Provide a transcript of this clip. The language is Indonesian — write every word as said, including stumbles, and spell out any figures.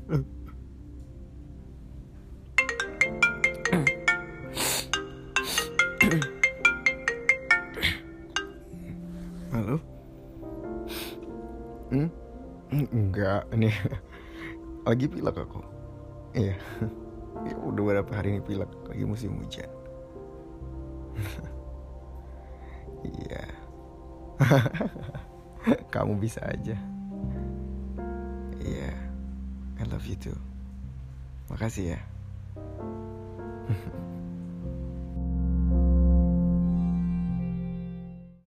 Halo? Hmm? Enggak, ini lagi pilek aku. Iya. Ya, udah beberapa hari ini pilek, lagi musim hujan. Iya. Kamu bisa aja. Iya. I love you too. Makasih ya.